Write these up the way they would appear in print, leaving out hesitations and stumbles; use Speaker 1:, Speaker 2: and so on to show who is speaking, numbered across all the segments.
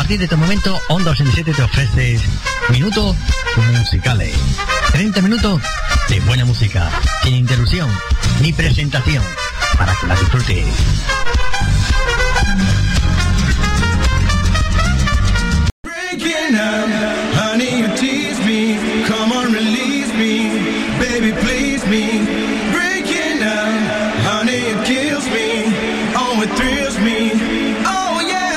Speaker 1: partir de este momento, Onda 87 te ofrece minutos musicales. 30 minutos de buena música, sin interrupción ni presentación, para que la disfrutes.
Speaker 2: Breaking up, honey, you tease me. Come on, release me, baby, please me. Breaking up, honey, it kills me. Oh, it thrills me. Oh, yeah.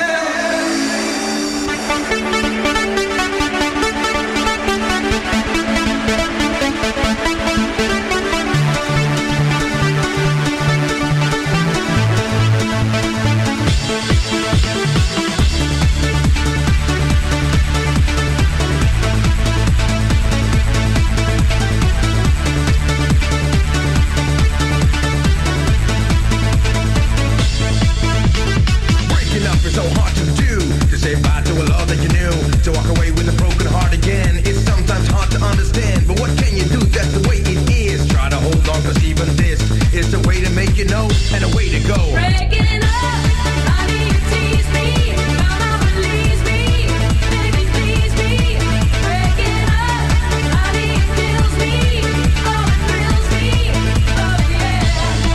Speaker 2: So hard to do, to say bye to a love that you knew, to walk away with a broken heart again. It's sometimes hard to understand, but what can you do? That's the way it is. Try to hold on, cause even this is the way to make you know, and a way to go. Breaking up, honey, you tease me. Come on, release me, baby, please me. Breaking up, honey, it kills me. Oh, it thrills me. Oh, yeah.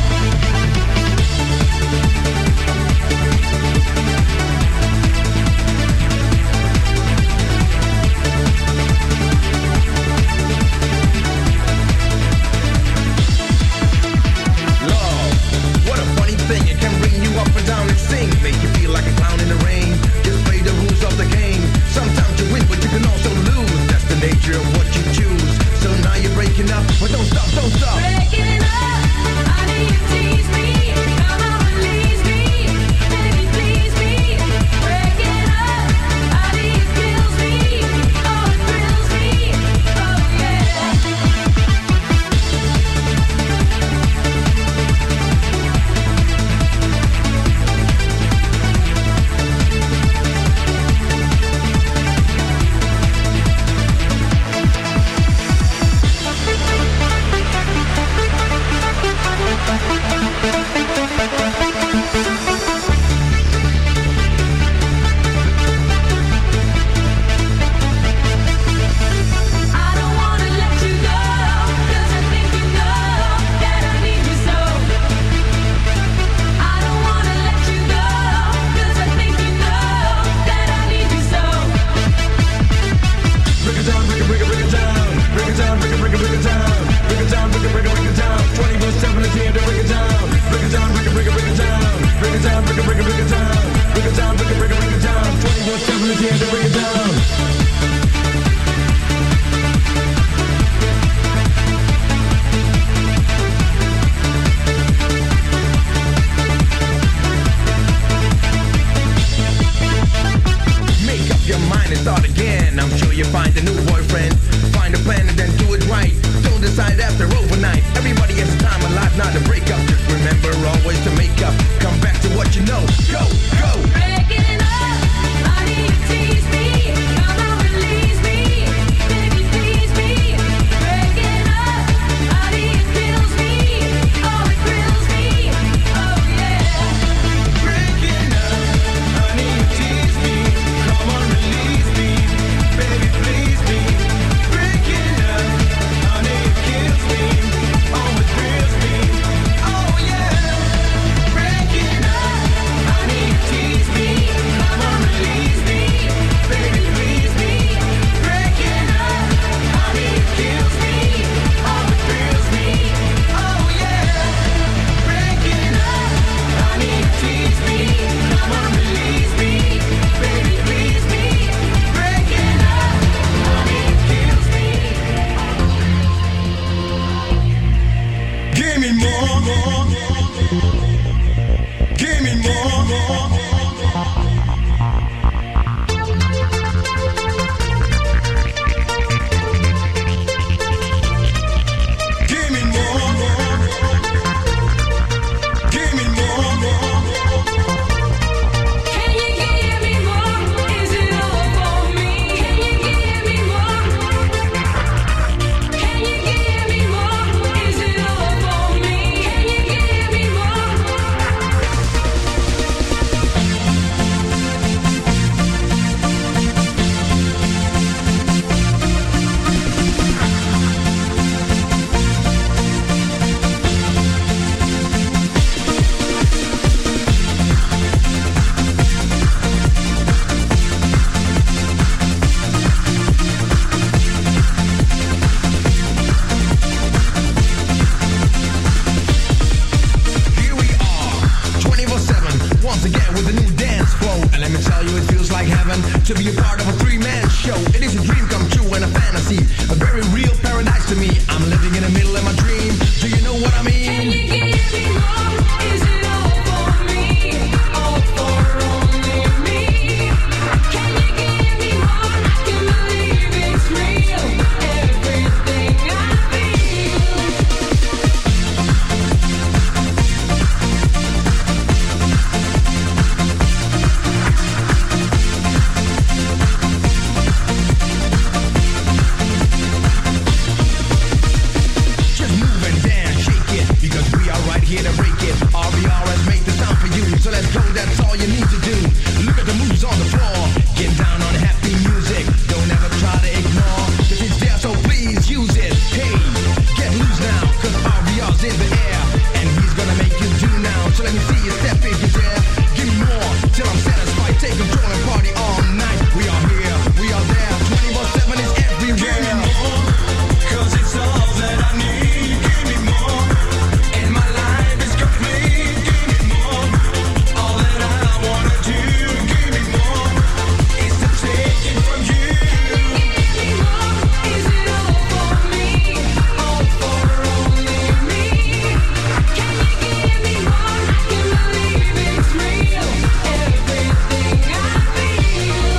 Speaker 2: Make you feel like a clown in the rain. Just play the rules of the game. Sometimes you win, but you can also lose. That's the nature of what you choose. So now you're breaking up, but don't stop, don't stop. Breaking up, honey, you tease me. Come on, release me, baby, please me. Breaking up, honey, it kills me. Oh, it thrills me. Oh, yeah. Tease me. to be a part of a three-man show. It is a dream come true and a fantasy, a very real paradise to me. I'm living in the middle of my dream. Do you know what I mean?
Speaker 3: Can you give me more? Is it all for me? All for only me? Can you give me more? I can believe it's real. Everything I feel.
Speaker 2: Just move and dance, shake it, because we are right here to break it. RBR has made the sound for you, so let's go, that's all you need to do. Look at the moves on the floor, get down on happy music. Don't ever try to ignore, cause it's there, so please use it. Hey, get loose now, cause RBR's in the air, and he's gonna make you do now. So let me see you step if you dare. Give me more, till I'm satisfied. Take control and party all night. We are here, we are there, 24/7 is everywhere.
Speaker 4: Give me more, 'cause it's all that I need. Give me more, and my life is complete. Give me more, all that I wanna do. Give me more, is to take it from you.
Speaker 3: Give me more. Is it all for me? All for only me? Can you give me more? I can believe it's real. Everything I feel.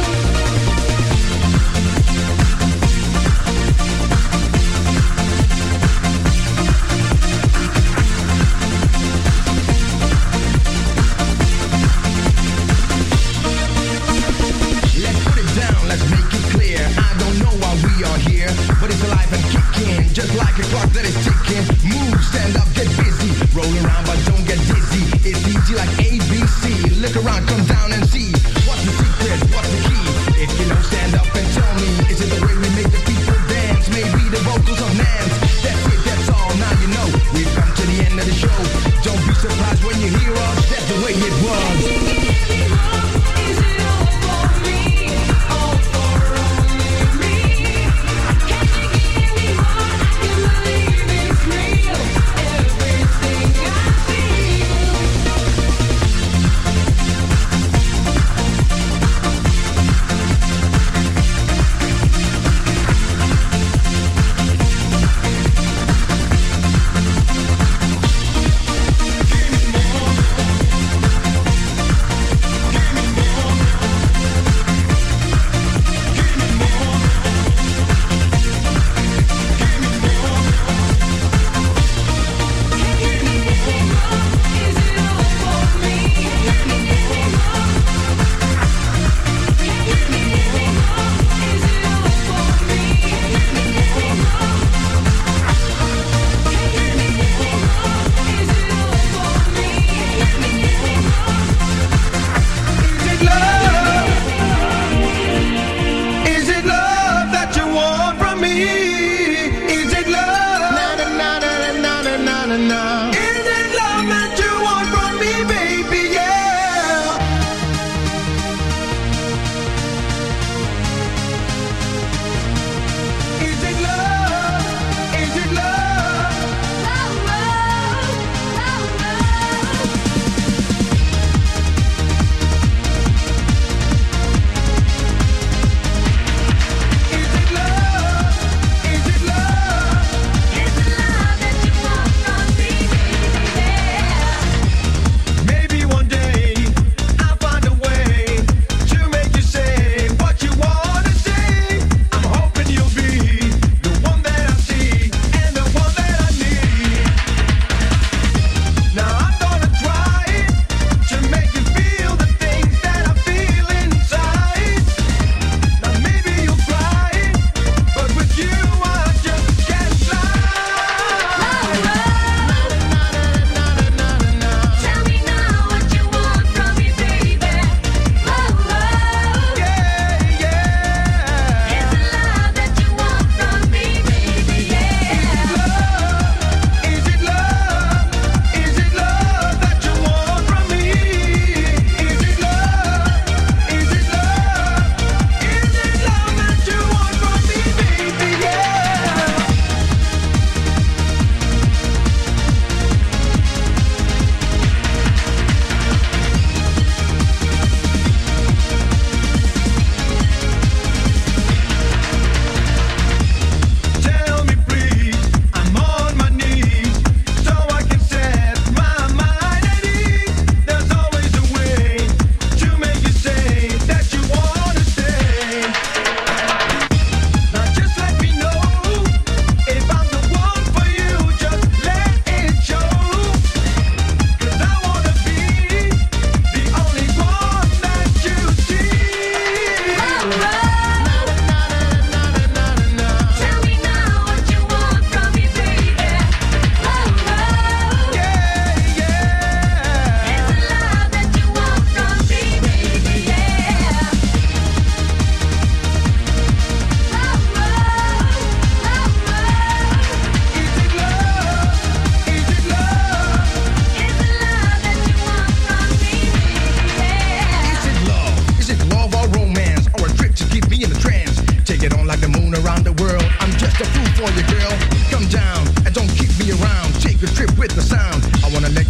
Speaker 2: Let's put it down, let's make it clear. I don't know why we are here, but it's alive and kicking, just like a clock that is ticking. Move, stand up, get busy. Roll around, but don't get dizzy. It's easy like ABC. Look around, come down and see. What's the secret? What's the key? If you know, stand up and tell me. Is it the way we make the people dance? Maybe the vocals of Nance. That's it, that's all. Now you know. We've come to the end of the show. Don't be surprised when you hear us. That's the way it was.
Speaker 3: Give me more. Is it all for me? All for only me? Can you give me more? I can believe it's real. Everything I feel.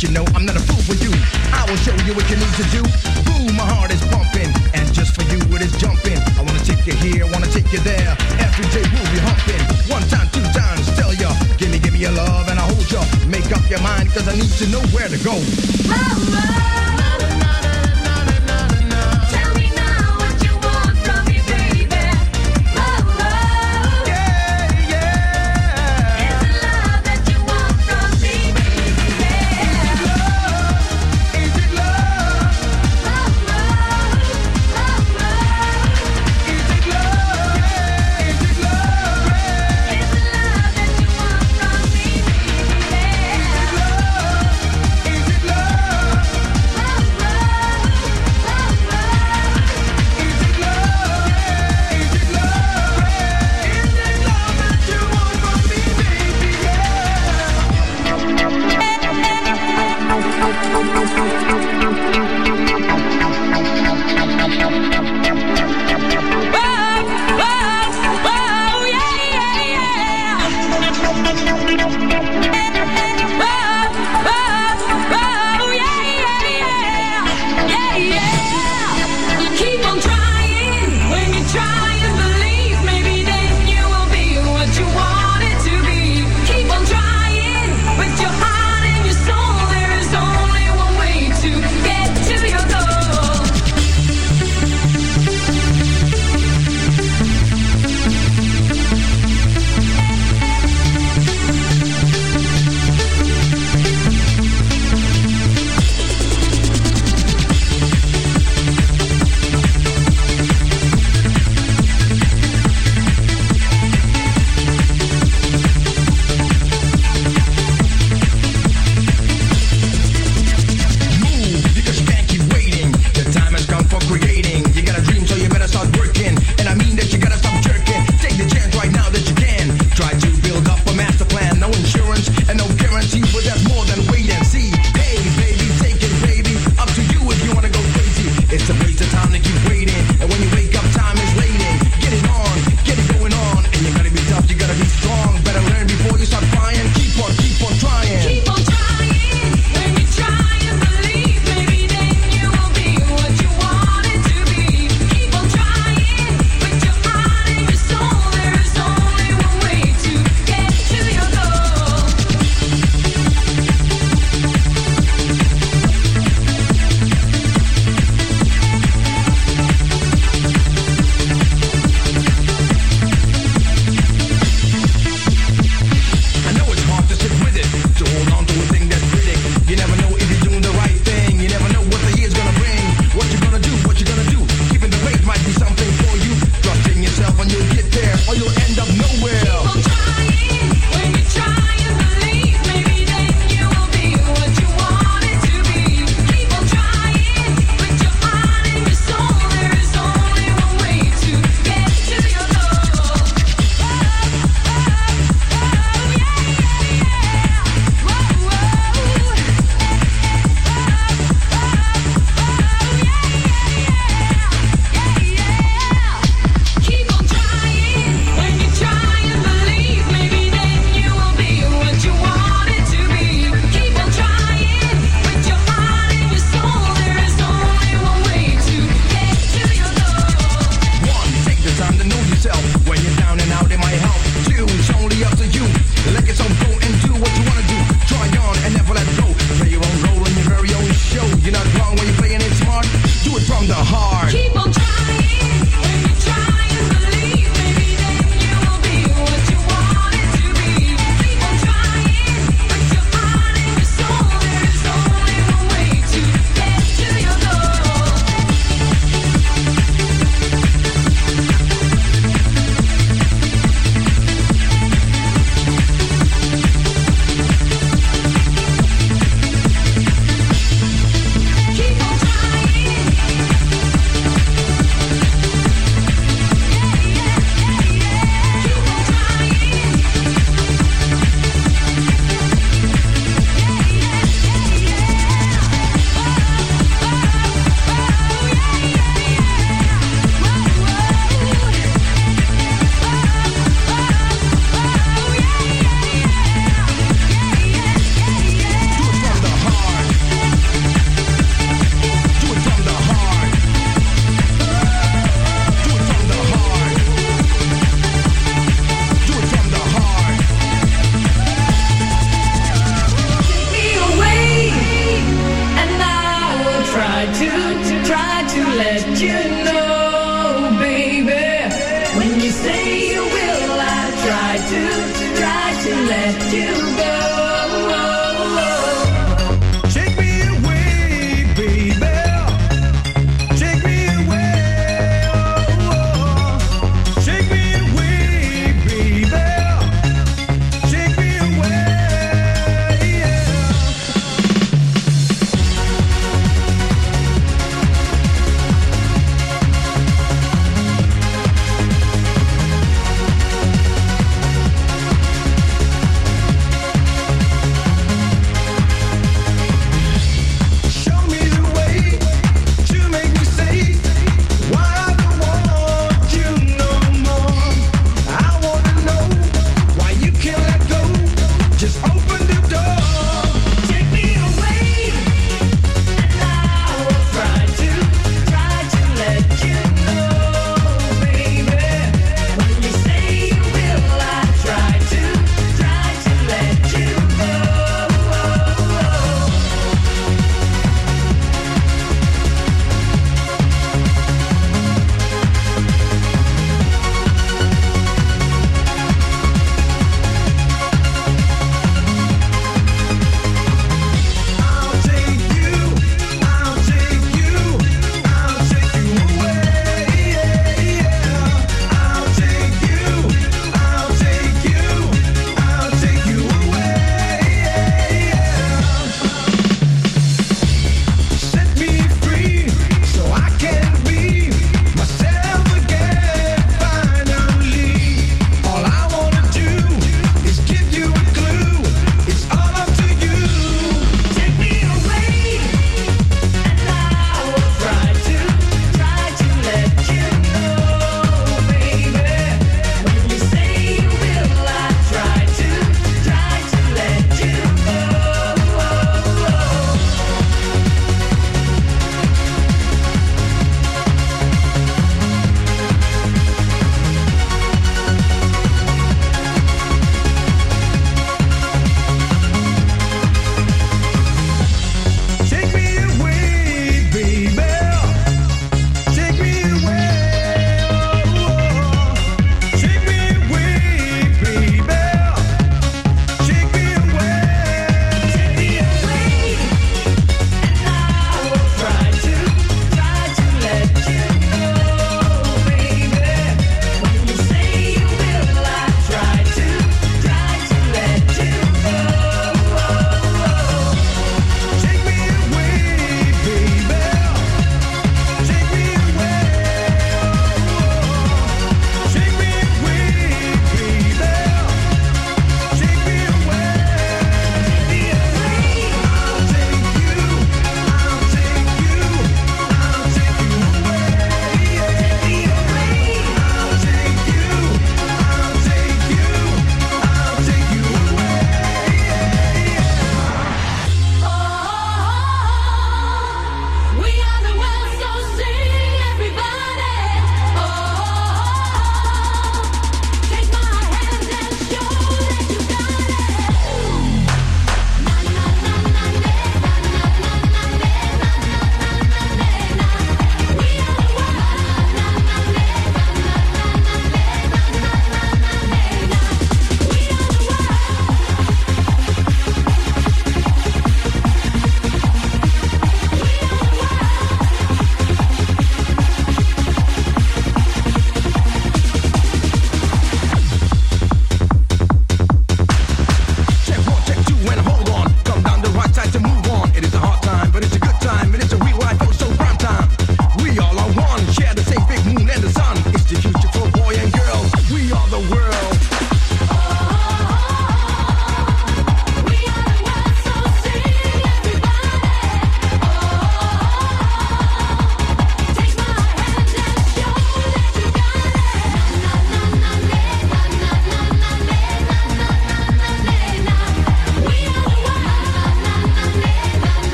Speaker 2: you know I'm not a fool for you. I will show you what you need to do. Boom, my heart is pumping, and just for you it is jumping. I wanna take you here, wanna take you there. Every day we'll be humping. 1 time, 2 times, tell ya. Give me your love and I'll hold ya. Make up your mind, cause I need to know where to go.
Speaker 3: Tell me now what you want from me, baby.
Speaker 2: Yeah, yeah.
Speaker 3: Is it love that you want from me, baby?
Speaker 2: Is it love? Is it love? Yeah, is it love? Yeah.
Speaker 3: Is it love that you want from me, baby?
Speaker 2: Is it love?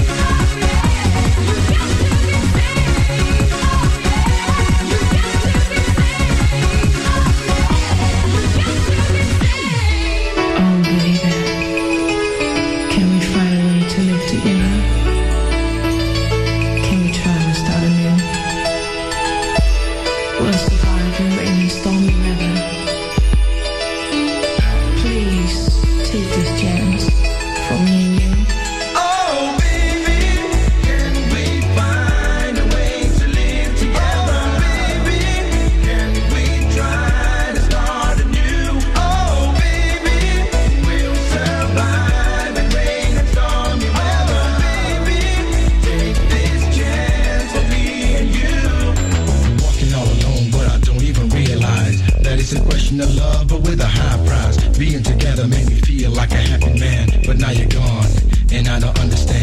Speaker 5: Oh, baby, can we find a way to live together? Can we try to start anew? We'll survive in rain and stormy weather. Please take this chance from me and you.
Speaker 4: Oh, baby, can we find a way to live together? Baby, can we try to start anew? Oh, baby, we'll survive in rain and stormy weather. Baby, take this chance for me and you. Walking all alone, but I don't even realize that it's a question of love, but with a high price. Being together made me feel like a happy man, but now you're gone, and I don't understand.